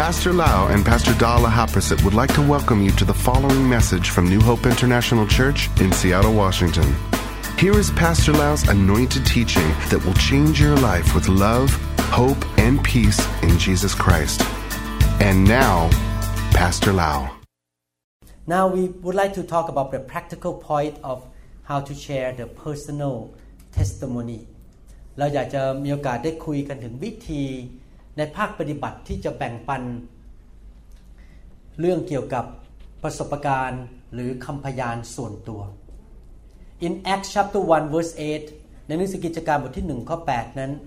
Pastor Lau and Pastor Dala Haprasit would like to welcome you to the following message from New Hope International Church in Seattle, Washington. Here is Pastor Lau's anointed teaching that will change your life with love, hope, and peace in Jesus Christ. And now, Pastor Lau. Now we would like to talk about the practical point of how to share the personal testimony. เราอยากจะมีโอกาสได้คุยกันถึงวิธีในภาคปฏิบัติที่จะแบ่งปันเรื่องเกี่ยวกับประสบการณ์หรือคำพยานส่วนตัว In Acts chapter 1 verse 8 ในหนังสือกิจการบทที่1ข้อ8นั้น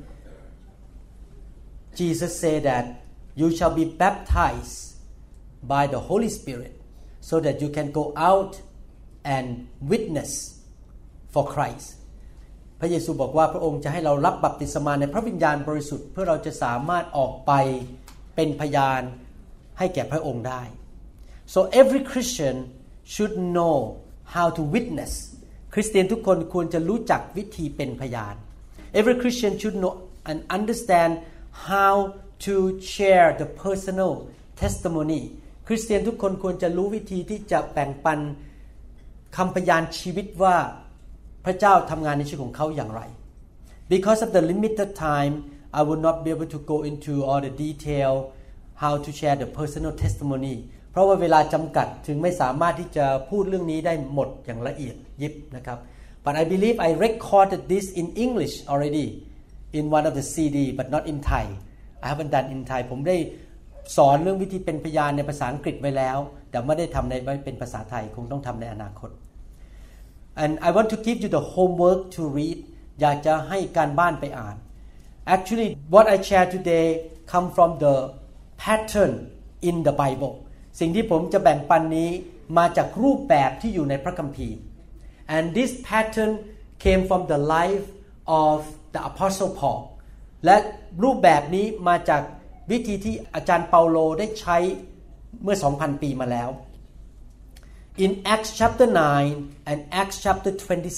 Jesus said that you shall be baptized by the Holy Spirit so that you can go out and witness for Christ พระเยซูบอกว่าพระองค์จะให้เรารับบัพติศมาในพระวิญญาณบริสุทธิ์เพื่อเราจะสามารถออกไปเป็นพยานให้แก่พระองค์ได้ So every Christian should know how to witness คริสเตียนทุกคนควรจะรู้จักวิธีเป็นพยาน Every Christian should know and understand how to share the personal testimony คริสเตียนทุกคนควรจะรู้วิธีที่จะแบ่งปันคำพยานชีวิตว่าพระเจ้าทำงานในชีวิตของเขาอย่างไร Because of the limited time I will not be able to go into all the detail how to share the personal testimony เพราะว่าเวลาจำกัดถึงไม่สามารถที่จะพูดเรื่องนี้ได้หมดอย่างละเอียดยิบนะครับ But I believe I recorded this in English already in one of the CD but not in Thai I haven't done in Thai ผมได้สอนเรื่องวิธีเป็นพยานในภาษาอังกฤษไว้แล้วแต่ไม่ได้ทำในเป็นภาษาไทยคงต้องทำในอนาคต And I want to give you the homework to read อยากจะให้การบ้านไปอ่าน Actually what I share today come from the pattern in the Bible สิ่งที่ผมจะแบ่งปันนี้มาจากรูปแบบที่อยู่ในพระคัมภีร์ And this pattern came from the life of the Apostle Paul และรูปแบบนี้มาจากวิธีที่อาจารย์เปาโลได้ใช้เมื่อ 2,000 ปีมาแล้ว In Acts chapter 9 and Acts chapter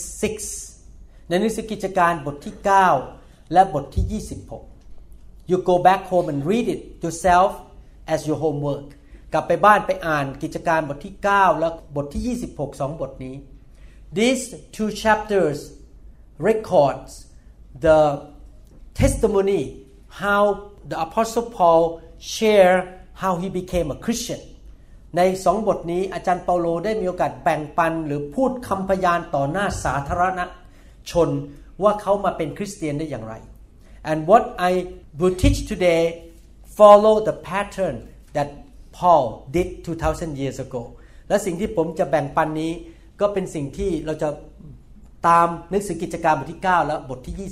26 ในหนังสือกิจการบทที่ 9 และบทที่ 26 You go back home and read it yourself as your homework กลับไปบ้านไปอ่านกิจการบทที่ 9 และบทที่ 26 2 บทนี้ These two chapters records the testimony how the Apostle Paul share how he became a Christian ใน2บทนี้อาจารย์เปาโลได้มีโอกาสแบ่งปันหรือพูดคำพยานต่อหน้าสาธารณชนว่าเขามาเป็นคริสเตียนได้อย่างไร And what I will teach today follow the pattern that Paul did 2,000 years ago และสิ่งที่ผมจะแบ่งปันนี้ก็เป็นสิ่งที่เราจะตามหนังสือกิจการบทที่ 9 และบทที่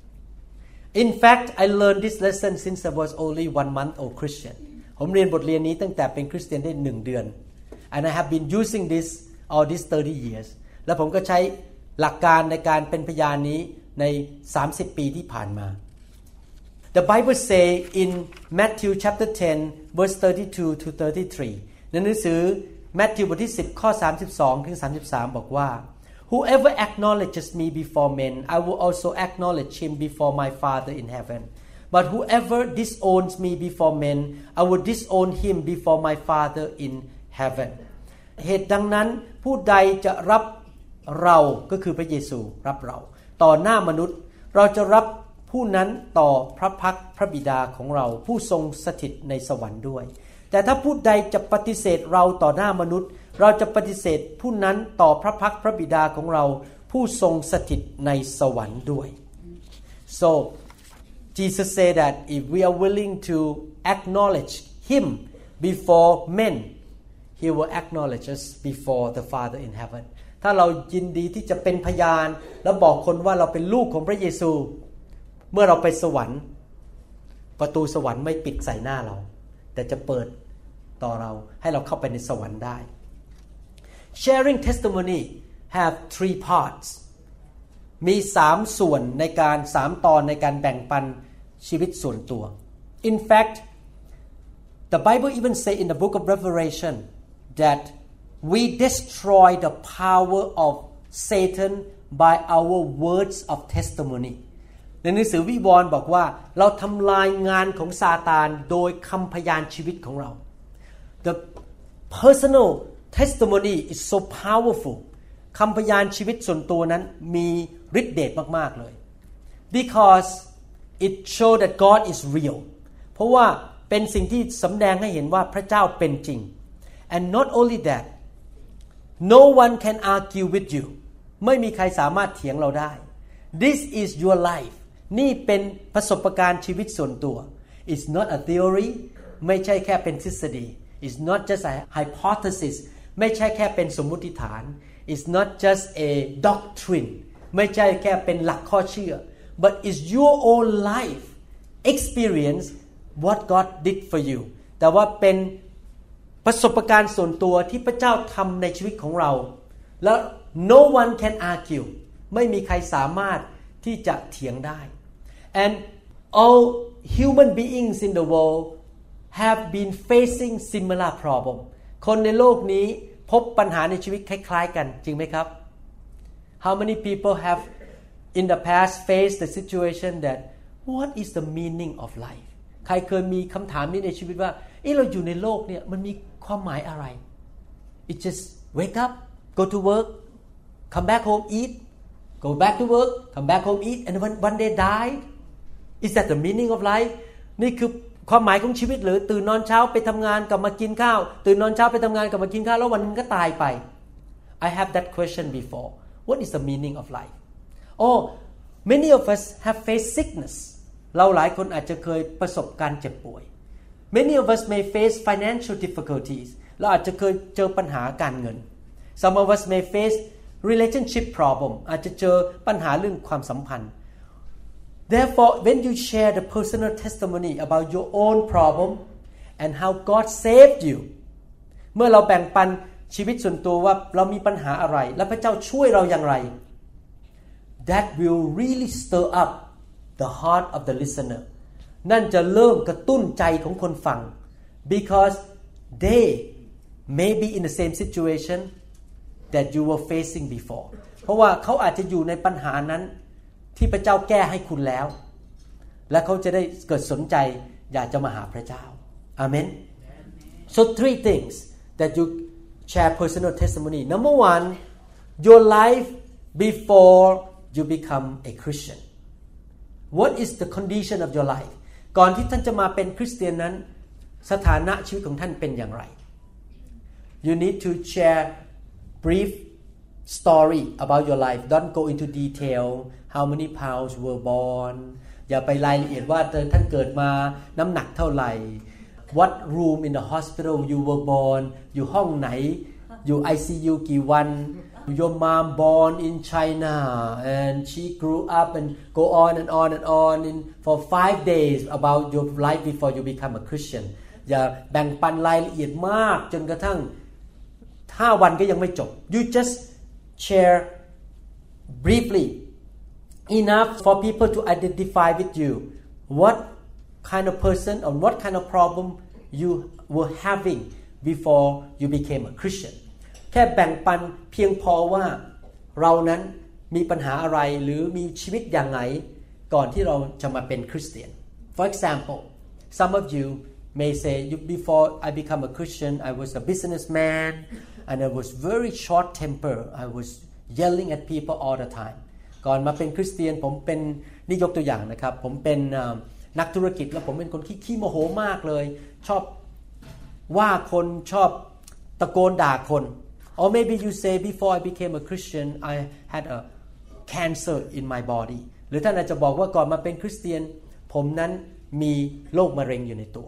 26 In fact I learned this lesson since I was only 1 month old Christian ผมเรียนบทเรียนนี้ตั้งแต่เป็นคริสเตียนได้1เดือน And I have been using this all these 30 years และผมก็ใช้หลักการในการเป็นพยานนี้ใน30 ปีที่ผ่านมา The Bible say in Matthew chapter 10 verse 32 to 33 ในหนังสือมัทธิวบทที่10ข้อ32ถึง33บอกว่า Whoever acknowledges me before men I will also acknowledge him before my Father in heaven But whoever disowns me before men I will disown him before my Father in heaven เหตุดังนั้นผู้ใดจะรับเราก็คือพระเยซูรับเราต่อหน้ามนุษย์เราจะรับผู้นั้นต่อพระพักพระบิดาของเราผู้ทรงสถิตในสวรรค์ด้วยแต่ถ้าผู้ใดจะปฏิเสธเราต่อหน้ามนุษย์เราจะปฏิเสธผู้นั้นต่อพระพักพระบิดาของเราผู้ทรงสถิตในสวรรค์ด้วย So Jesus said that if we are willing to acknowledge him before men he will acknowledge us before the Father in heaven ถ้าเรายินดีที่จะเป็นพยานและบอกคนว่าเราเป็นลูกของพระเยซูเมื่อเราไปสวรรค์ประตูสวรรค์ไม่ปิดใส่หน้าเราแต่จะเปิดต่อเราให้เราเข้าไปในสวรรค์ได้ Sharing testimony have 3 parts มี3ส่วนในการ3ตอนในการแบ่งปันชีวิตส่วนตัว In fact the Bible even say in the book of Revelation that we destroy the power of Satan by our words of testimony ในในหนังสือวิวรณ์บอกว่าเราทำลายงานของซาตานโดยคำพยานชีวิตของเรา The personal testimony is so powerful คำพยานชีวิตส่วนตัวนั้นมีฤทธิ์เดชมากๆเลย because it show that God is real เพราะว่าเป็นสิ่งที่สำแดงให้เห็นว่าพระเจ้าเป็นจริง and not only that no one can argue with you ไม่มีใครสามารถเถียงเราได้ this is your life นี่เป็นประสบการณ์ชีวิตส่วนตัว it's not a theory ไม่ใช่แค่เป็นทฤษฎี it's not just a hypothesis ไม่ใช่แค่เป็นสมมุติฐาน it's not just a doctrine ไม่ใช่แค่เป็นหลักข้อเชื่อ but it's your own life experience what God did for you แต่ว่าเป็นประสบการณ์ส่วนตัวที่พระเจ้าทำในชีวิตของเราแล้ว no one can argue ไม่มีใครสามารถที่จะเถียงได้ and all human beings in the world have been facing similar problem คนในโลกนี้พบปัญหาในชีวิตคล้ายๆกันจริงไหมครับ how many people have in the past faced the situation that what is the meaning of life ใครเคยมีคำถามนี้ในชีวิตว่าเราอยู่ในโลกเนี่ยมันมีความหมายอะไร it just wake up go to work come back home eat go back to work come back home eat and one day die is that the meaning of life นี่คือความหมายของชีวิตหรือตื่นนอนเช้าไปทำงานกลับมากินข้าวตื่นนอนเช้าไปทำงานกลับมากินข้าวแล้ววันนึงก็ตายไป I have that question before what is the meaning of life oh many of us have faced sickness เราหลายคนอาจจะเคยประสบการเจ็บป่วย many of us may face financial difficulties เราอาจจะเคยเจอปัญหาการเงิน some of us may face relationship problem อาจจะเจอปัญหาเรื่องความสัมพันธ์Therefore, when you share the personal testimony about your own problem and how God saved you เมื่อเราแบ่งปันชีวิตส่วนตัวว่าเรามีปัญหาอะไรและพระเจ้าช่วยเราอย่างไร that will really stir up the heart of the listener นั่นจะเริ่มกระตุ้นใจของคนฟัง because they may be in the same situation that you were facing before เพราะว่าเขาอาจจะอยู่ในปัญหานั้นที่พระเจ้าแก้ให้คุณแล้วและเขาจะได้เกิดสนใจอยากจะมาหาพระเจ้าอาเมน so three things that you share personal testimony number one your life before you become a Christian what is the condition of your life ก่อนที่ท่านจะมาเป็นคริสเตียนนั้นสถานะชีวิตของท่านเป็นอย่างไร you need to share brief story about your life don't go into detail how many pounds were born อย่าไปรายละเอียดว่าท่านเกิดมาน้ำหนักเท่าไหร่ what room in the hospital you were born อยู่ห้องไหนอยู่ ICU กี่วัน your mom born in China and she grew up and go on and on and on in for 5 days about your life before you become a Christian อย่าแบ่งปันรายละเอียดมากจนกระทั่ง5 วันก็ยังไม่จบ you just share briefly enough for people to identify with you what kind of person or what kind of problem you were having before you became a Christian แค่แบ่งปันเพียงพอว่าเรานั้นมีปัญหาอะไรหรือมีชีวิตอย่างไรก่อนที่เราจะมาเป็นคริสเตียน For example some of you may say before I become a Christian I was a businessman and I was very short temper I was yelling at people all the time ก่อนมาเป็นคริสเตียนผมเป็นนี่ยกตัวอย่างนะครับผมเป็นนักธุรกิจแล้วผมเป็นคนขี้โมโหมากเลยชอบว่าคนชอบตะโกนด่าคน or maybe you say before I became a Christian I had a cancer in my body หรือท่านอาจจะบอกว่าก่อนมาเป็นคริสเตียนผมนั้นมีโรคมะเร็งอยู่ในตัว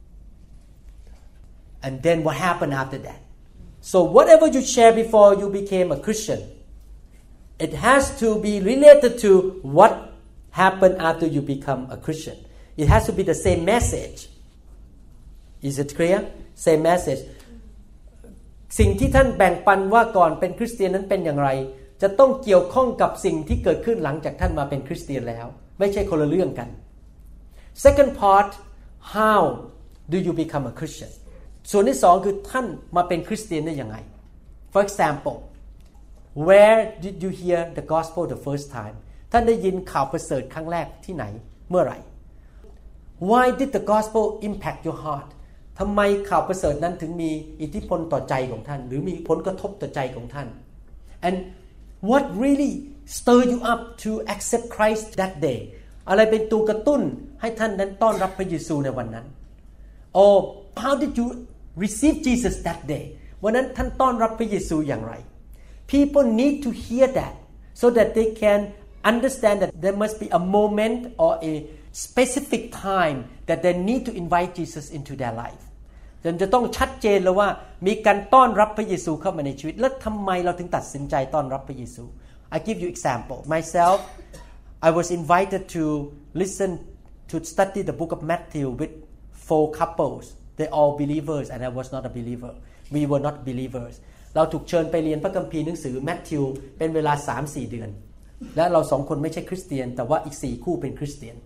and then what happened after that so whatever you share before you became a Christian it has to be related to what happened after you become a Christian. It has to be the same message. Is it clear? Same message. สิ่งที่ท่านแบ่งปันว่าก่อนเป็นคริสเตียนนั้นเป็นอย่างไรจะต้องเกี่ยวข้องกับสิ่งที่เกิดขึ้นหลังจากท่านมาเป็นคริสเตียนแล้วไม่ใช่คนละเรื่องกัน Second part, how do you become a Christian? ส่วนที่2คือท่านมาเป็นคริสเตียนได้ยังไง For example, where did you hear the gospel the first time? ท่านได้ยินข่าวประเสริฐครั้งแรกที่ไหนเมื่อไหร่ Why did the gospel impact your heart ทำไมข่าวประเสริฐนั้นถึงมีอิทธิพลต่อใจของท่านหรือมีผลกระทบต่อใจของท่าน and what really stir you up to accept Christ that day อะไรเป็นตัวกระตุ้นให้ท่านนั้นต้อนรับพระเยซูในวันนั้น or how did you receive Jesus that day วันนั้นท่านต้อนรับพระเยซูอย่างไร people need to hear that so that they can understand that there must be a moment or a specific time that they need to invite Jesus into their life จะต้องชัดเจนเลยว่ามีการต้อนรับพระเยซูเข้ามาในชีวิตแล้วทำไมเราถึงตัดสินใจต้อนรับพระเยซู I give you example myself I was invited to listen to study the book of Matthew with 4 couples they all believers and I was not a believer we were not believers เราถูกเชิญไปเรียนพระคัมภีร์หนังสือแมทธิวเป็นเวลา 3-4 เดือนและเรา2คนไม่ใช่คริสเตียนแต่ว่าอีก4คู่เป็นคริสเตียน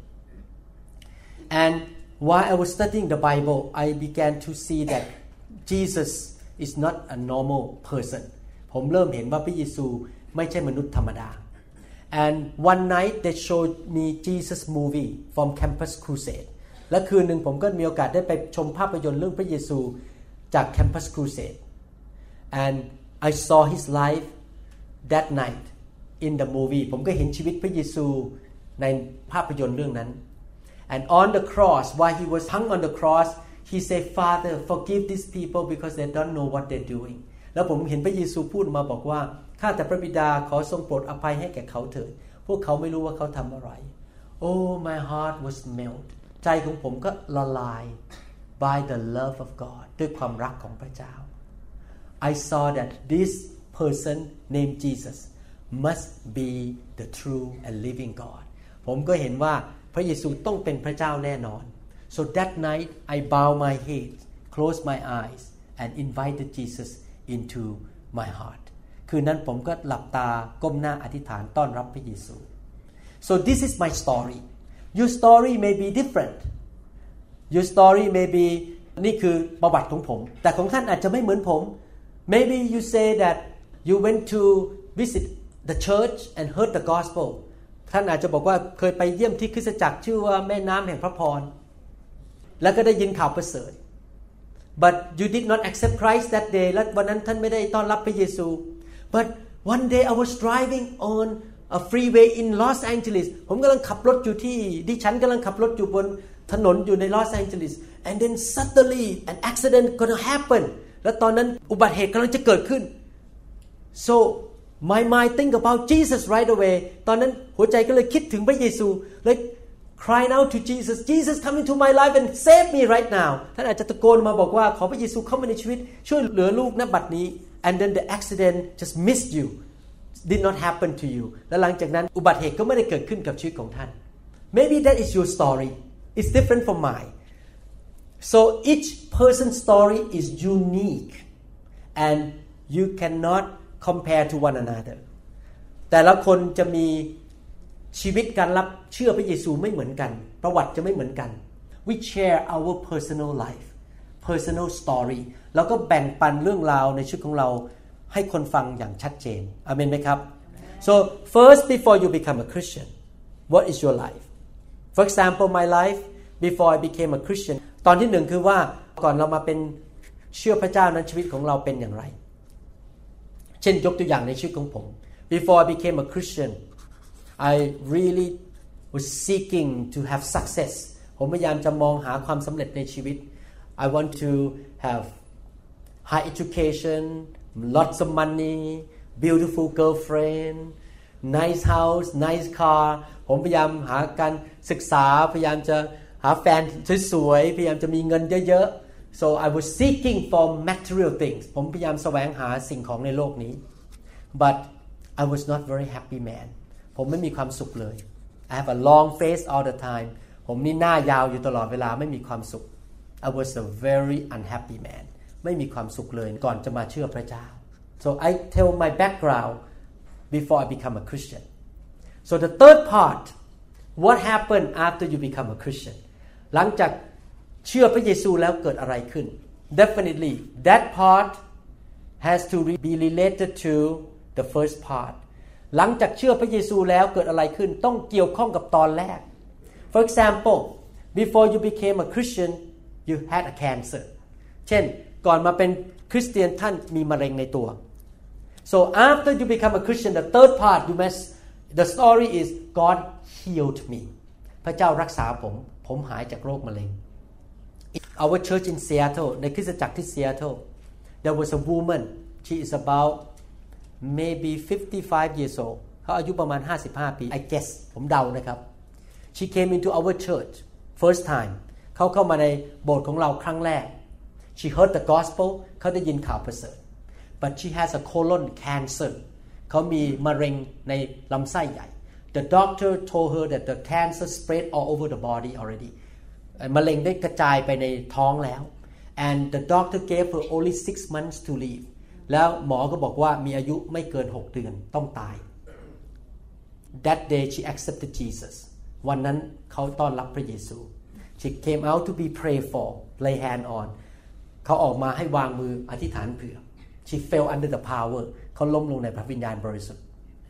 and while I was studying the Bible I began to see that Jesus is not a normal person ผมเริ่มเห็นว่าพระเยซูไม่ใช่มนุษย์ธรรมดา and one night they showed me Jesus movie from Campus Crusade และคืนหนึ่งผมก็มีโอกาสได้ไปชมภาพยนตร์เรื่องพระเยซูจาก Campus Crusade and I saw his life that night in the movie ผมก็เห็นชีวิตพระเยซูในภาพยนตร์เรื่องนั้น and on the cross while he was hung on the cross he said Father forgive these people because they don't know what they're doing แล้วผมเห็นพระเยซูพูดมาบอกว่าข้าแต่พระบิดาขอทรงโปรดอภัยให้แก่เขาเถิดพวกเขาไม่รู้ว่าเขาทำอะไร Oh my heart was melt ใจของผมก็ละลาย by the love of God ด้วยความรักของพระเจ้า I saw that this person named Jesus must be the true and living God ผมก็เห็นว่าพระเยซูต้องเป็นพระเจ้าแน่นอน So that night I bowed my head closed my eyes and invited Jesus into my heart คืนนั้นผมก็หลับตาก้มหน้าอธิษฐานต้อนรับพระเยซู So this is my story Your story may be different Your story may be นี่คือประวัติของผมแต่ของท่านอาจจะไม่เหมือนผม Maybe you say that you went to visit the church and heard the gospel ท่านอาจจะบอกว่าเคยไปเยี่ยมที่คริสตจักรชื่อว่าแม่น้ำแห่งพระพรแล้วก็ได้ยินข่าวประเสริฐ but you did not accept Christ that day และวันนั้นท่านไม่ได้ต้อนรับพระเยซู but one day I was driving on a freeway in Los Angeles ผมกำลังขับรถอยู่ที่ดิฉันกำลังขับรถอยู่บนถนนอยู่ใน Los Angeles and then suddenly an accident gonna happen และตอนนั้นอุบัติเหตุกำลังจะเกิดขึ้น so my mind think about Jesus right away ตอนนั้นหัวใจก็เลยคิดถึงพระเยซูเลย crying out to Jesus Jesus come into my life and save me right now ท่านอาจจะตะโกนมาบอกว่าขอพระเยซูเข้ามาในชีวิตช่วยเหลือลูกณบัดนี้ and then the accident just missed you did not happen to you และหลังจากนั้นอุบัติเหตุก็ไม่ได้เกิดขึ้นกับชีวิตของท่าน maybe that is your story it's different from mine so each person's story is unique and you cannot compare to one another แต่ละคนจะมีชีวิตการรับเชื่อพระเยซูไม่เหมือนกันประวัติจะไม่เหมือนกัน we share our personal life personal story แล้วก็แบ่งปันเรื่องราวในชีวิตของเราให้คนฟังอย่างชัดเจนอาเมนไหมครับ so first before you become a Christian what is your life for example my life before I became a Christian ตอนที่หนึ่งคือว่าก่อนเรามาเป็นเชื่อพระเจ้านั้นชีวิตของเราเป็นอย่างไรเช่นยกตัวอย่างในชีวิตของผม before I became a Christian I really was seeking to have success ผมพยายามจะมองหาความสำเร็จในชีวิต I want to have high education lots of money beautiful girlfriend nice house nice car ผมพยายามหาการศึกษาพยายามจะหาแฟนสวยๆพยายามจะมีเงินเยอะๆ so I was seeking for material things ผมพยายามแสวงหาสิ่งของในโลกนี้ but I was not very happy man ผมไม่มีความสุขเลย I have a long face all the time ผมนี่หน้ายาวอยู่ตลอดเวลาไม่มีความสุข I was a very unhappy man ไม่มีความสุขเลยก่อนจะมาเชื่อพระเจ้า so I tell my background before I become a Christian so the third part what happened after you become a Christian หลังจากเชื่อพระเยซูแล้วเกิดอะไรขึ้น definitely that part has to be related to the first part หลังจากเชื่อพระเยซูแล้วเกิดอะไรขึ้นต้องเกี่ยวข้องกับตอนแรก For example before you became a Christian you had a cancer เช่นก่อนมาเป็นคริสเตียนท่านมีมะเร็งในตัว So after you become a Christian the third part the story is God healed me พระเจ้ารักษาผมหายจากโรคมะเร็ง Our church in Seattle ในคริสตจักรที่ Seattle there was a woman she is about maybe 55 years old เขาอายุประมาณ55ปี I guess ผมเดานะครับ she came into our church first time เขาเข้ามาในโบสถ์ของเราครั้งแรก she heard the gospel เขาได้ยินข่าวประเสริฐ but she has a colon cancer เขามีมะเร็งในลำไส้ใหญ่ the doctor told her that the cancer spread all over the body already มะเร็งได้กระจายไปในท้องแล้ว and the doctor gave her only 6 months to live แล้วหมอก็บอกว่ามีอายุไม่เกิน6 เดือนต้องตาย That day she accepted Jesus วันนั้นเขาต้อนรับพระเยซู She came out to be prayed for lay hand on เขาออกมาให้วางมืออธิษฐานเผื่อ She fell under the power เขาล้มลงในพระวิญญาณบริสุทธิ์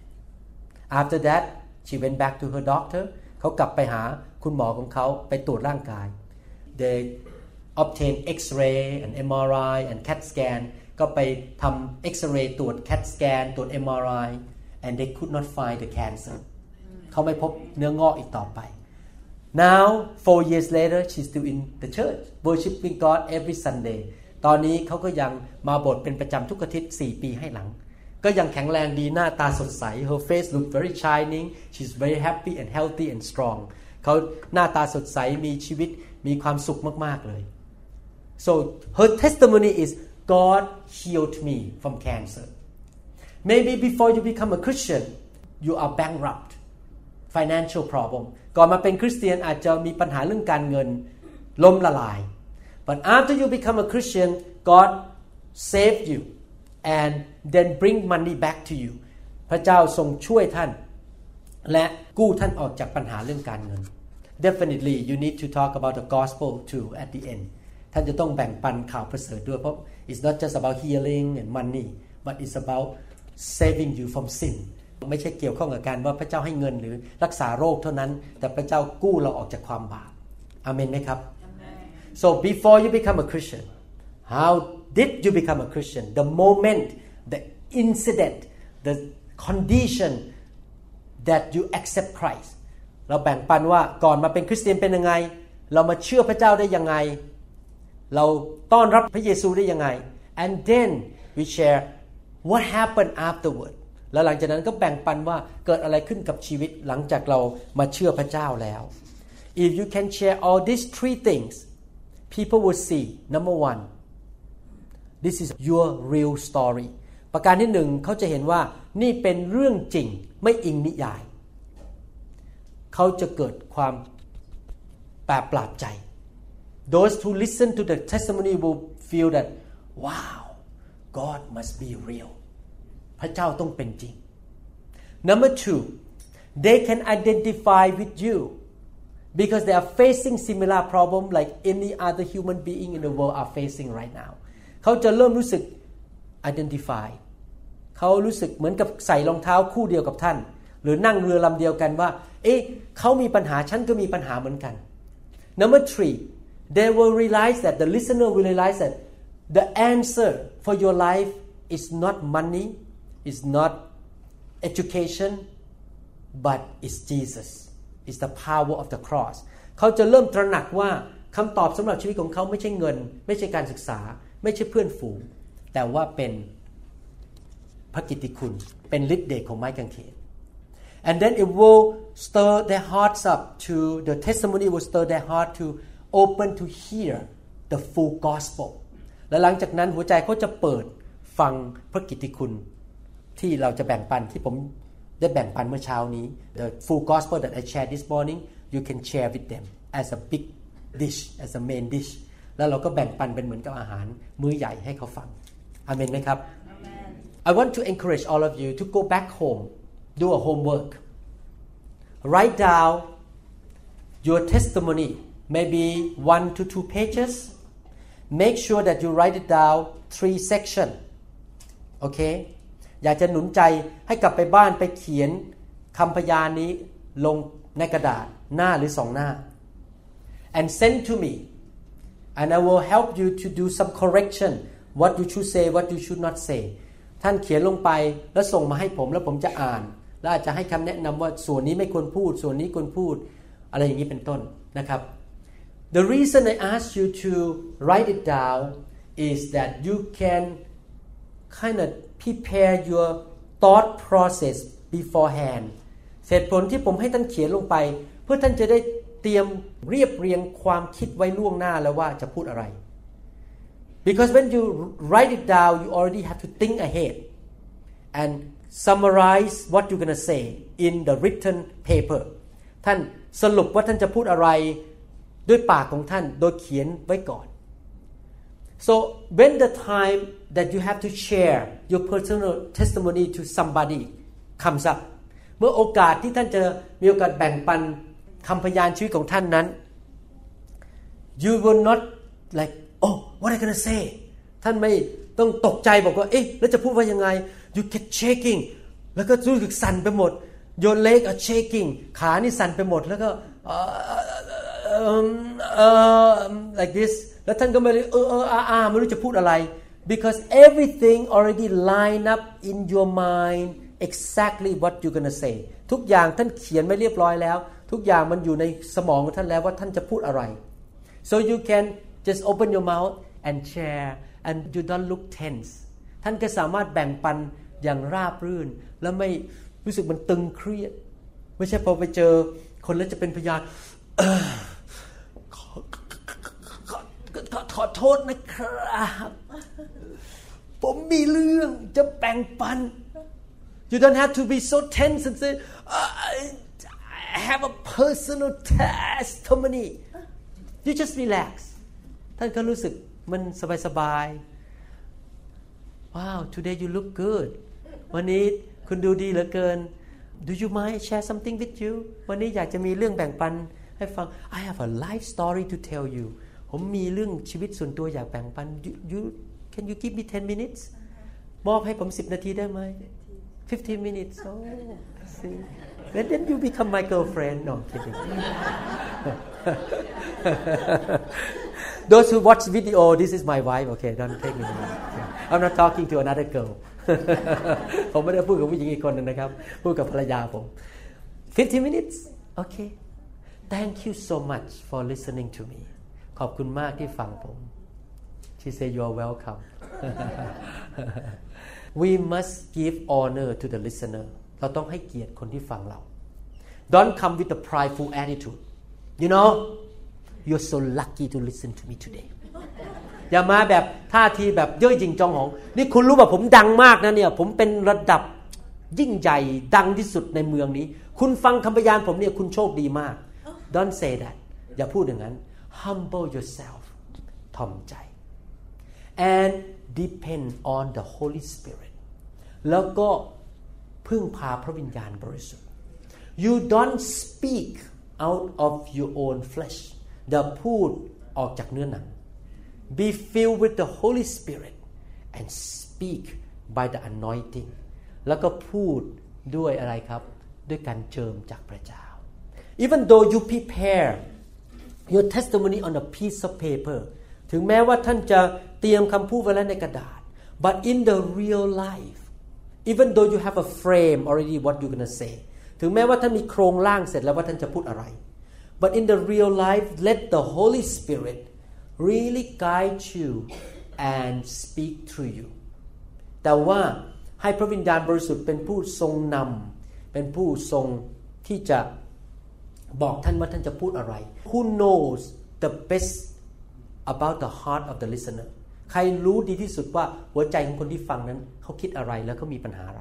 After that she went back to her doctor เขากลับไปหาคุณหมอของเขาไปตรวจร่างกาย They obtained X-ray and MRI and CAT scan ก็ไปทำ X-ray ตรวจ CAT scan ตรวจ MRI and they could not find the cancer เขาไม่พบเนื้องอกอีกต่อไป Now 4 years later she's still in the church worshiping God every Sunday ตอนนี้เขาก็ยังมาโบสถ์เป็นประจำทุกอาทิตย์4 ปีให้หลังก็ยังแข็งแรงดีหน้าตาสดใส Her face look very shining she's very happy and healthy and strong เขาหน้าตาสดใสมีชีวิตมีความสุขมากๆเลย So her testimony is God healed me from cancer Maybe before you become a Christian you are bankrupt financial problem ก่อนมาเป็นคริสเตียนอาจจะมีปัญหาเรื่องการเงินล้มละลาย But after you become a Christian God saved you and then bring money back to you พระเจ้าทรงช่วยท่านและกู้ท่านออกจากปัญหาเรื่องการเงิน Definitely you need to talk about the gospel too at the end ท่านจะต้องแบ่งปันข่าวประเสริฐด้วยเพราะ it's not just about healing and money but it's about saving you from sin ไม่ใช่เกี่ยวข้องกับการว่าพระเจ้าให้เงินหรือรักษาโรคเท่านั้นแต่พระเจ้ากู้เราออกจากความบาปอาเมนไหมครับ So before you become a Christian how did you become a Christian the moment the incident the condition that you accept Christ เราแบ่งปันว่าก่อนมาเป็นคริสเตียนเป็นยังไงเรามาเชื่อพระเจ้าได้ยังไงเราต้อนรับพระเยซูได้ยังไง and then we share what happened afterward แล้วหลังจากนั้นก็แบ่งปันว่าเกิดอะไรขึ้นกับชีวิตหลังจากเรามาเชื่อพระเจ้าแล้ว if you can share all these 3 things people will see number 1 this is your real story ประการที่ 1เขาจะเห็นว่านี่เป็นเรื่องจริงไม่อิงนิยายเขาจะเกิดความแปลกประหลาดใจ those who listen to the testimony will feel that wow God must be real พระเจ้าต้องเป็นจริง Number 2 they can identify with you because they are facing similar problem like any other human being in the world are facing right now เขาจะเริ่มรู้สึก identify เขารู้สึกเหมือนกับใส่รองเท้าคู่เดียวกับท่านหรือนั่งเรือลำเดียวกันว่าเขามีปัญหาฉันก็มีปัญหาเหมือนกัน Number 3 they will realize that the listener will realize that the answer for your life is not money is not education but it's Jesus it's the power of the cross เขาจะเริ่มตระหนักว่าคำตอบสำหรับชีวิตของเขาไม่ใช่เงินไม่ใช่การศึกษาไม่ใช่เพื่อนฝูงแต่ว่าเป็นพระกิตติคุณเป็นฤทธิ์เดชของไม้กางเขน and then it will stir their hearts up to the testimony will stir their heart to open to hear the full gospel และหลังจากนั้นหัวใจเขาจะเปิดฟังพระกิตติคุณที่เราจะแบ่งปันที่ผมได้แบ่งปันเมื่อเช้านี้ the full gospel that I shared this morning you can share with them as a big dish as a main dish แล้วเราก็แบ่งปันเป็นเหมือนกับอาหารมื้อใหญ่ให้เขาฟังอาเมนไหมครับ I want to encourage all of you to go back home do a homework write down your testimony maybe 1 to 2 pages make sure that you write it down 3 sections okay อยากจะหนุนใจให้กลับไปบ้านไปเขียนคำพยานนี้ลงในกระดาษหน้าหรือ2 หน้า and send to me and I will help you to do some correction what you should say what you should not say ท่านเขียนลงไปแล้วส่งมาให้ผมแล้วผมจะอ่านแล้วอาจจะให้คำแนะนำว่าส่วนนี้ไม่ควรพูดส่วนนี้ควรพูดอะไรอย่างนี้เป็นต้นนะครับ The reason I ask you to write it down is that you can kind of prepare your thought process beforehand เหตุผลที่ผมให้ท่านเขียนลงไปเพื่อท่านจะได้เตรียมเรียบเรียงความคิดไว้ล่วงหน้าแล้วว่าจะพูดอะไร Because when you write it down you already have to think ahead and summarize what you're going to say in the written paper ท่านสรุปว่าท่านจะพูดอะไรด้วยปากของท่านโดยเขียนไว้ก่อน So when the time that you have to share your personal testimony to somebody comes up เมื่อโอกาสที่ท่านจะมีโอกาสแบ่งปันคำพยานชีวิตของท่านนั้น you will not like oh what am I gonna say ท่านไม่ต้องตกใจบอกว่าเอ๊ะแล้วจะพูดว่ายังไง you get shaking แล้วก็รู้สึกสั่นไปหมด your leg are shaking ขานี่สั่นไปหมดแล้วก็like this แล้วท่านก็ไม่รู้ไม่รู้จะพูดอะไร because everything already line up in your mind exactly what you're gonna say ทุกอย่างท่านเขียนไว้เรียบร้อยแล้วทุกอย่างมันอยู่ในสมองของท่านแล้วว่าท่านจะพูดอะไร so you can just open your mouth and share and you don't look tense ท่านก็สามารถแบ่งปันอย่างราบรื่นและไม่รู้สึกมันตึงเครียดไม่ใช่พอไปเจอคนแล้วจะเป็นพยานขอโทษนะครับผมมีเรื่องจะแบ่งปัน you don't have to be so tense and say I have a personal testimony you just relax ท่านก็รู้สึกมันสบายๆ wow today you look good วันนี้คุณดูดีเหลือเกิน do you mind share something with you วันนี้อยากจะมีเรื่องแบ่งปันให้ฟัง I have a life story to tell you ผมมีเรื่องชีวิตส่วนตัวอยากแบ่งปัน can you give me 10 minutes มอบให้ผม10 นาทีได้ไหม15 minutes oh I see and then you become my girlfriend no kidding those who watch video this is my wife okay don't take me I'm not talking to another girl ผมไม่ได้พูดกับผู้หญิงอีกคนนึงนะครับพูดกับภรรยาผม15 minutes okay thank you so much for listening to me ขอบคุณมากที่ฟังผม she said you are welcome we must give honor to the listener เราต้องให้เกียรติคนที่ฟังเรา don't come with a prideful attitude you know you're so lucky to listen to me today อย่ามาแบบท่าทีแบบเย่อหยิ่งจองหองนี่คุณรู้ป่ะผมดังมากนะเนี่ยผมเป็นระดับยิ่งใหญ่ดังที่สุดในเมืองนี้คุณฟังคำพยานผมเนี่ยคุณโชคดีมาก don't say that อย่าพูดอย่างนั้น humble yourself ถ่อมใจ and depend on the Holy Spirit แล้วก็พึ่งพาพระวิญญาณบริสุทธิ์ you don't speak out of your own flesh อย่าพูดออกจากเนื้อหนัง be filled with the Holy Spirit and speak by the anointing แล้วก็พูดด้วยอะไรครับด้วยการเจิมจากพระเจ้า even though you prepare your testimony on a piece of paper ถึงแม้ว่าท่านจะเตรียมคำพูดไว้แล้วในกระดาษ but in the real life even though you have a frame already what you're going to say ถึงแม้ว่าท่านมีโครงร่างเสร็จแล้วว่าท่านจะพูดอะไร but in the real life let the Holy Spirit really guide you and speak through you แต่ว่าให้พระวิญญาณบริสุทธิ์เป็นผู้ทรงนำเป็นผู้ทรงที่จะบอกท่านว่าท่านจะพูดอะไร Who knows the best about the heart of the listener ใครรู้ดีที่สุดว่าหัวใจของคนที่ฟังนั้นเขาคิดอะไรแล้วเขามีปัญหาอะไร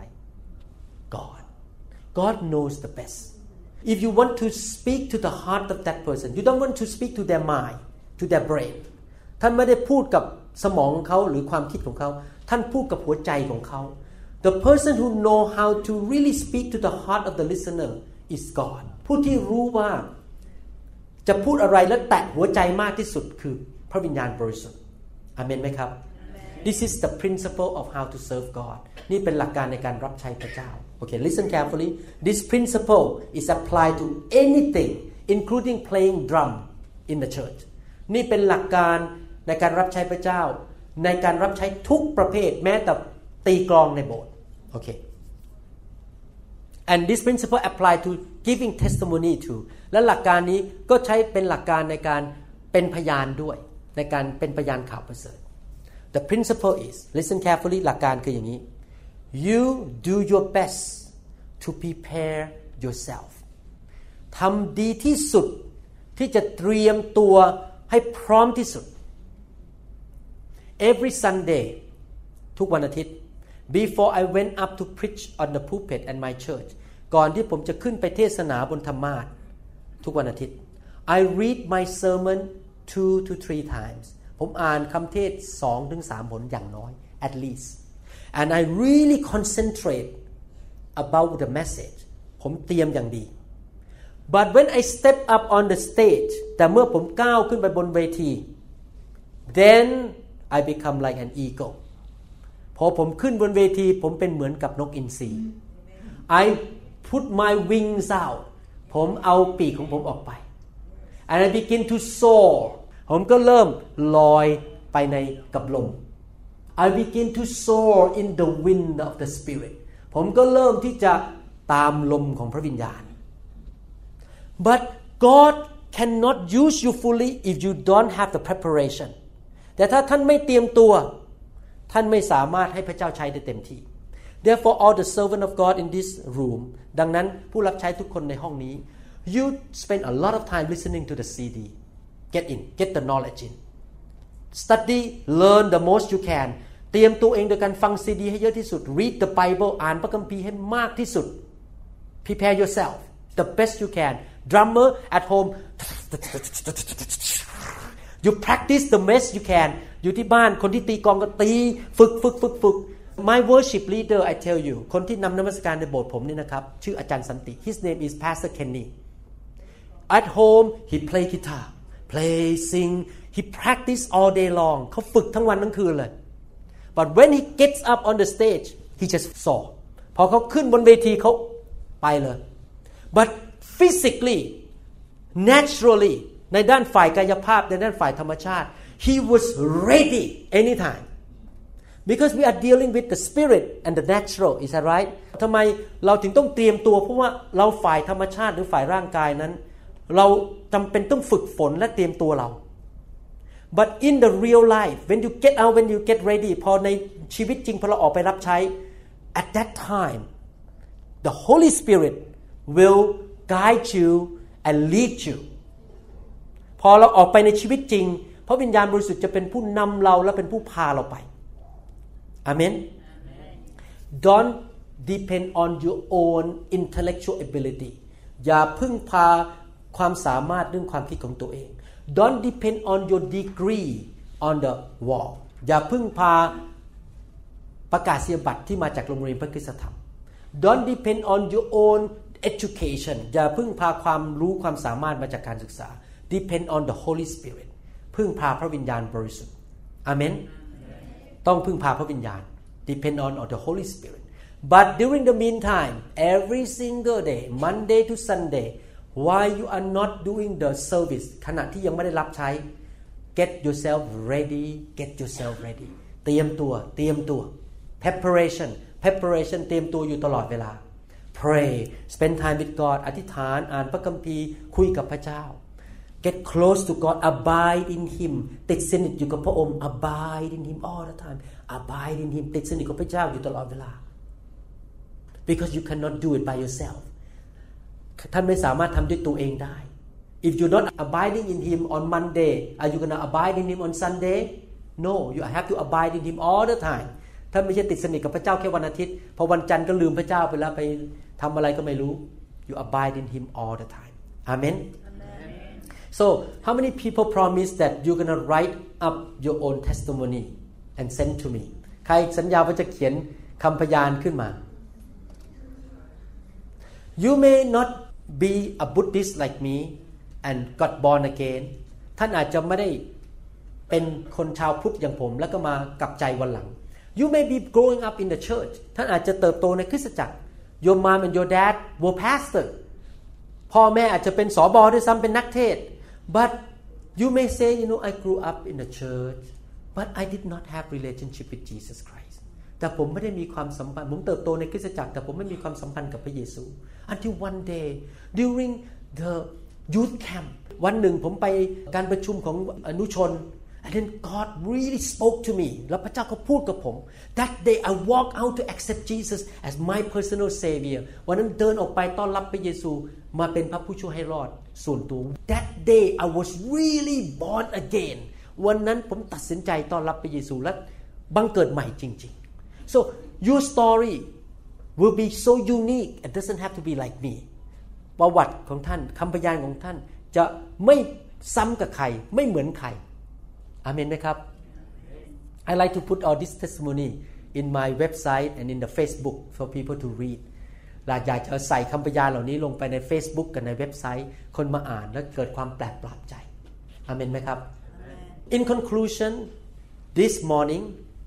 God knows the best if you want to speak to the heart of that person you don't want to speak to their mind to their brain ท่านไม่ได้พูดกับสมองของเขาหรือความคิดของเขาท่านพูดกับหัวใจของเขา The person who know how to really speak to the heart of the listener is God ผู้ที่รู้ว่าจะพูดอะไรและแตะหัวใจมากที่สุดคือพระวิญญาณบริสุทธิ์อาเมนไหมครับ This is the principle of how to serve God นี่เป็นหลักการในการรับใช้พระเจ้า Okay, listen carefully. This principle is applied to anything, including playing drum in the church. นี่เป็นหลักการในการรับใช้พระเจ้าในการรับใช้ทุกประเภทแม้แต่ตีกลองในโบสถ์ Okay. And this principle apply to giving testimony too. และหลักการนี้ก็ใช้เป็นหลักการในการเป็นพยานด้วยในการเป็นพยานข่าวประเสริฐ The principle is listen carefully หลักการคืออย่างนี้ You do your best to prepare yourself ทำดีที่สุดที่จะเตรียมตัวให้พร้อมที่สุด Every Sunday ทุกวันอาทิตย์ Before I went up to preach on the pulpit at my church ก่อนที่ผมจะขึ้นไปเทศนาบนธรรมาสน์ทุกวันอาทิตย์ I read my sermon 2 to 3 times ผมอ่านคำเทศ 2-3 หนอย่างน้อย at least and I really concentrate about the message ผมเตรียมอย่างดี but when I step up on the stage แต่เมื่อผมก้าวขึ้นไปบนเวที then I become like an eagle พอผมขึ้นบนเวทีผมเป็นเหมือนกับนกอินทรี I put my wings out ผมเอาปีกของผมออกไป and I begin to soar ผมก็เริ่มลอยไปในกับลม I begin to soar in the wind of the Spirit ผมก็เริ่มที่จะตามลมของพระวิญญาณ But God cannot use you fully if you don't have the preparation แต่ถ้าท่านไม่เตรียมตัวท่านไม่สามารถให้พระเจ้าใช้ได้เต็มที่ Therefore all the servant of God in this room ดังนั้นผู้รับใช้ทุกคนในห้องนี้ You spend a lot of time listening to the CD get the knowledge in study learn the most you can เตรียมตัวเองโดยการฟังซีดีให้เยอะที่สุด read the Bible อ่านพระคัมภีร์ให้มากที่สุด prepare yourself the best you can drummer at home you practice the best you can อยู่ที่บ้านคนที่ตีกลองก็ตีฝึก my worship leader I tell you คนที่นำนมัสการในโบสถ์ผมนี่นะครับชื่ออาจารย์สันติ his name is Pastor Kenny at home he play guitar play sing he practice all day long เขาฝึกทั้งวันทั้งคืนเลย but when he gets up on the stage he just saw พอเขาขึ้นบนเวทีเขาไปเลย but physically naturally ในด้านฝ่ายกายภาพในด้านฝ่ายธรรมชาติ he was ready anytime because we are dealing with the spirit and the natural is that right ทำไมเราถึงต้องเตรียมตัวเพราะว่าเราฝ่ายธรรมชาติหรือฝ่ายร่างกายนั้นเราจำเป็นต้องฝึกฝนและเตรียมตัวเรา but in the real life when you get out when you get ready พอในชีวิตจริงพอเราออกไปรับใช้ at that time the Holy Spirit will guide you and lead you พอเราออกไปในชีวิตจริงพระวิญญาณบริสุทธิ์จะเป็นผู้นำเราและเป็นผู้พาเราไปอาเมน Don't depend on your own intellectual ability อย่าพึ่งพาความสามารถเรื่องความคิดของตัวเอง Don't depend on your degree on the wall อย่าพึ่งพาประกาศนียบัตรที่มาจากโรงเรียนพระคริสตธรรม Don't depend on your own education อย่าพึ่งพาความรู้ความสามารถมาจากการศึกษา Depend on the Holy Spirit พึ่งพาพระวิญญาณบริสุทธิ์อาเมนต้องพึ่งพาพระวิญญาณ Depend on the Holy Spirit but during the meantime every single day Monday to Sunday while you are not doing the service ขณะที่ยังไม่ได้รับใช้ get yourself ready เตรียมตัว preparation เตรียมตัวอยู่ตลอดเวลา pray spend time with God อธิษฐานอ่านพระคัมภีร์คุยกับพระเจ้า get close to God abide in Him ติดสนิทอยู่กับพระองค์ abide in Him all the time abide in Him ติดสนิทกับพระเจ้าอยู่ตลอดเวลา because you cannot do it by yourself ท่านไม่สามารถทำด้วยตัวเองได้ if you're not abiding in Him on Monday are you gonna abide in Him on Sunday no you have to abide in Him all the time ท่านไม่ใช่ติดสนิทกับพระเจ้าแค่วันอาทิตย์พอวันจันทร์ก็ลืมพระเจ้าไปแล้วไปทำอะไรก็ไม่รู้ you abide in Him all the time Amen so how many people promise that you're gonna write up your own testimony and send to me ใครสัญญาว่าจะเขียนคำพยานขึ้นมา you may not be a Buddhist like me and got born again ท่านอาจจะไม่ได้เป็นคนชาวพุทธอย่างผมแล้วก็มากลับใจวันหลัง You may be growing up in the church ท่านอาจจะเติบโตในคริสตจักร Your mom and your dad were pastor พ่อแม่อาจจะเป็นสบด้วยซ้ำเป็นนักเทศ But you may say I grew up in the church but I did not have relationship with Jesus Christ แต่ผมไม่ได้มีความสัมพันธ์ผมเติบโตในคริสตจักรแต่ผมไม่มีความสัมพันธ์กับพระเยซู Until one day during the youth camp วันหนึ่งผมไปการประชุมของอนุชน and then God really spoke to me แล้วพระเจ้าก็พูดกับผม That day I walked out to accept Jesus as my personal savior วันนั้นเดินออกไปต้อนรับพระเยซูมาเป็นพระผู้ช่วยให้รอดส่วนตัว That day I was really born again วันนั้นผมตัดสินใจต้อนรับพระเยซูและบังเกิดใหม่จริงๆ So your story will be so unique it doesn't have to be like me ประวัติของท่านคำพยานของท่านจะไม่ซ้ำกับใครไม่เหมือนใครอาเมนไหมครับ I like to put all this testimony in my website and in the Facebook for people to read อยากจะใส่คำพยานเหล่านี้ลงไปใน Facebook กับในเว็บไซต์คนมาอ่านแล้วเกิดความแปลกประหลาดใจอาเมนไหมครับ In conclusion this morning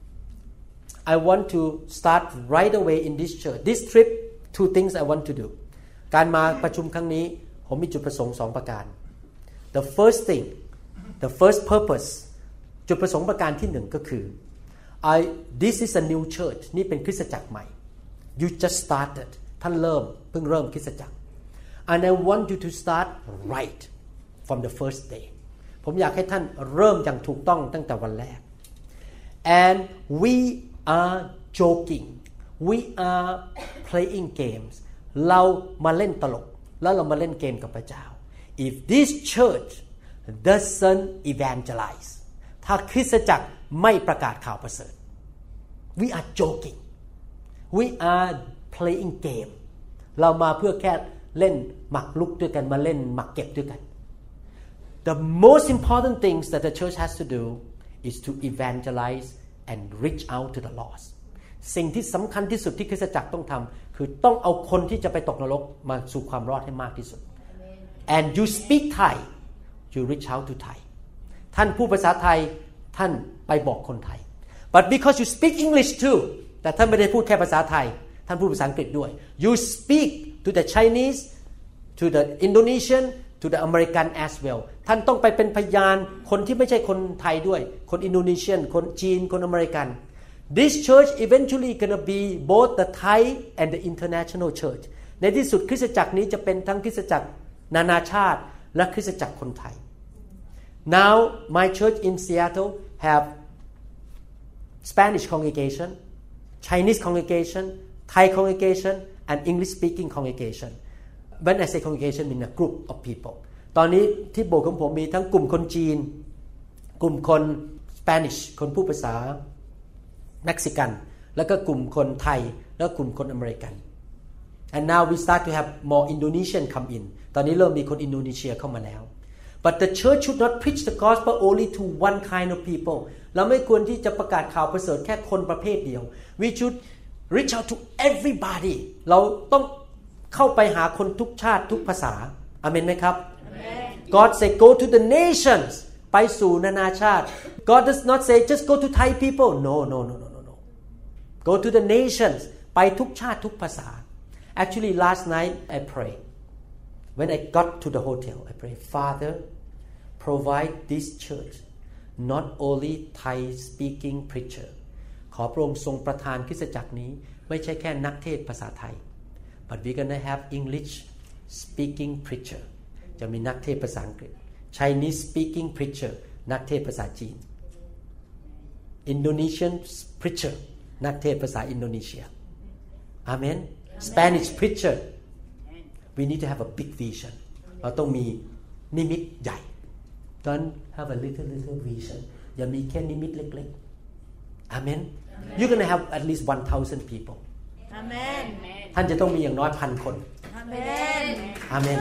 I want to start right away in this church this trip two things I want to do การมาประชุมครั้งนี้ผมมีจุดประสงค์2ประการ The first thing the first purpose จุดประสงค์ประการที่1ก็คือ this is a new church นี่เป็นคริสตจักรใหม่ you just started ท่านเพิ่งเริ่มคริสตจักร and I want you to start right from the first day ผมอยากให้ท่านเริ่มอย่างถูกต้องตั้งแต่วันแรก and we are joking we are playing games เรามาเล่นตลกแล้วเรามาเล่นเกมกับพระเจ้า if this church doesn't evangelize ถ้าคริสตจักรไม่ประกาศข่าวประเสริฐ we are joking we are playing game เรามาเพื่อแค่เล่นหมากรุกด้วยกันมาเล่นหมากเก็บด้วยกัน the most important things that the church has to do is to evangelize and reach out to the lost สิ่งที่สำคัญที่สุดที่คริสตจักรต้องทำคือต้องเอาคนที่จะไปตกนรกมาสู่ความรอดให้มากที่สุด and you speak Thai you reach out to Thai ท่านพูดภาษาไทยท่านไปบอกคนไทย but because you speak English too แต่ท่านไม่ได้พูดแค่ภาษาไทยท่านพูดภาษาอังกฤษด้วย you speak to the Chinese to the Indonesian to the American as well ท่านต้องไปเป็นพยานคนที่ไม่ใช่คนไทยด้วยคนอินโดนีเซียนคนจีนคนอเมริกัน this church eventually gonna be both the Thai and the international church ในที่สุดคริสตจักรนี้จะเป็นทั้งคริสตจักรนานาชาติและคริสตจักรคนไทย now my church in Seattle have Spanish congregation Chinese congregation Thai congregation and English speaking congregation when I say congregation mean a group of people ตอนนี้ที่โบสถ์ของผมมีทั้งกลุ่มคนจีนกลุ่มคน Spanish คนพูดภาษาเม็กซิกันแล้วก็กลุ่มคนไทยแล้วกลุ่มคนอเมริกัน and now we start to have more Indonesian come in ตอนนี้เริ่มมีคนอินโดนีเซียเข้ามาแล้ว but the church should not preach the gospel only to one kind of people เราไม่ควรที่จะประกาศข่าวประเสริฐแค่คนประเภทเดียว we should reach out to everybody เราต้องเข้าไปหาคนทุกชาติทุกภาษาอาเมนไหมครับ God say go to the nations ไปสู่นานาชาติ God does not say just go to Thai people no go to the nations ไปทุกชาติทุกภาษา actually last night I prayed when I got to the hotel I prayed Father provide this church not only Thai speaking preacher ขอพระองค์ทรงประทานคริสตจักรนี้ไม่ใช่แค่นักเทศภาษาไทย but we're gonna have English speaking preacher จะมีนักเทศภาษาอังกฤษ Chinese speaking preacher นักเทศภาษาจีน Indonesian preacher นักเทศภาษาอินโดนีเซีย Amen Spanish preacher we need to have a big vision เราต้องมีนิมิตใหญ่ don't have a little vision อย่ามีแค่นิมิตเล็กๆ Amen you're gonna have at least 1,000 people Amen ท่านจะต้องมีอย่างน้อย 1,000 คน Amen Amen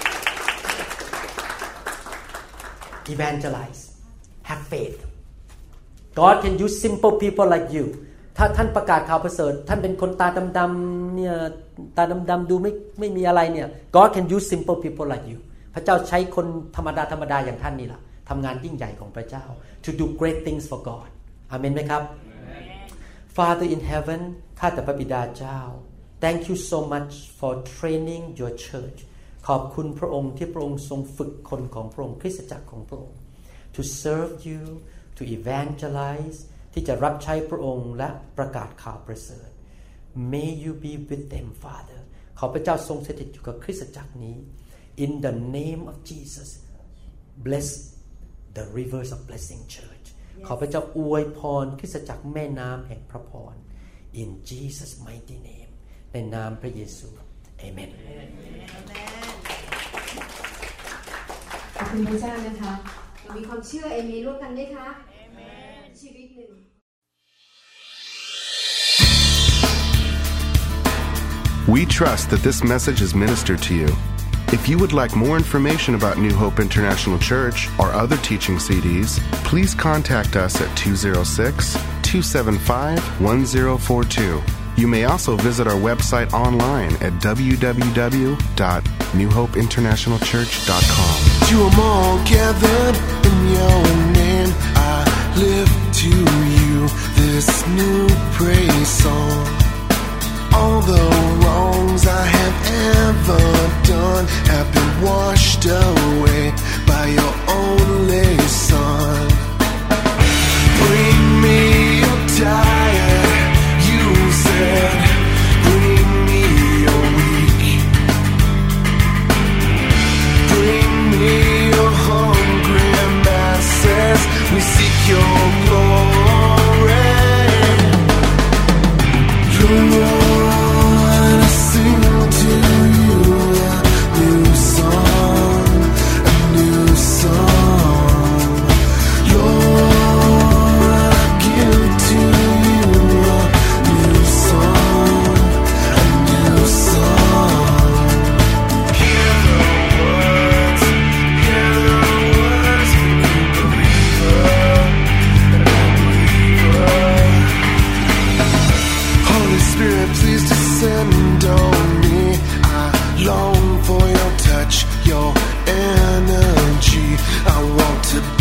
evangelize have faith God can use simple people like you ถ้าท่านประกาศข่าวประเสริฐท่านเป็นคนตาดำๆเนี่ยตาดำๆดูไม่มีอะไรเนี่ย God can use simple people like you พระเจ้าใช้คนธรรมดาอย่างท่านนี่ล่ะทำงานยิ่งใหญ่ของพระเจ้า to do great things for God อาเมนไหมครับ Father in heaven ข้าแต่พระบิดาเจ้า Thank you so much for training your church ขอบคุณพระองค์ที่พระองค์ทรงฝึกคนของพระองค์คริสตจักรของพระองค์ to serve you to evangelize ที่จะรับใช้พระองค์และประกาศข่าวประเสริฐ May you be with them Father ขอพระเจ้าทรงสถิตอยู่กับคริสตจักรนี้ In the name of Jesus bless the rivers of blessing church ขอพระเจ้าอวยพรคริสตจักรแม่น้ำแห่งพระพร In Jesus mighty name ในนามพระเยซู Amen ขอบคุณพระเจ้านะคะเรามีความเชื่อเอเมนร่วมกันไหมคะชีวิตหนึ่ง We trust that this message is ministered to you. If you would like more information about New Hope International Church or other teaching CDs, please contact us at 206-275-1042. You may also visit our website online at www.newhopeinternationalchurch.com. To them all gathered in your name, I lift to you this new praise song. All the wrongs I have ever done have been washed away by your only Son. Bring me your tired, you said. Bring me your weak. Bring me your hungry masses. We seek your glory. Lord, I sing to you a new song, a new song. Lord, I give to you a new song, a new song. Hear the words of a believer. Holy Spirit, please descend on me. I long for your touch, your energy. I want to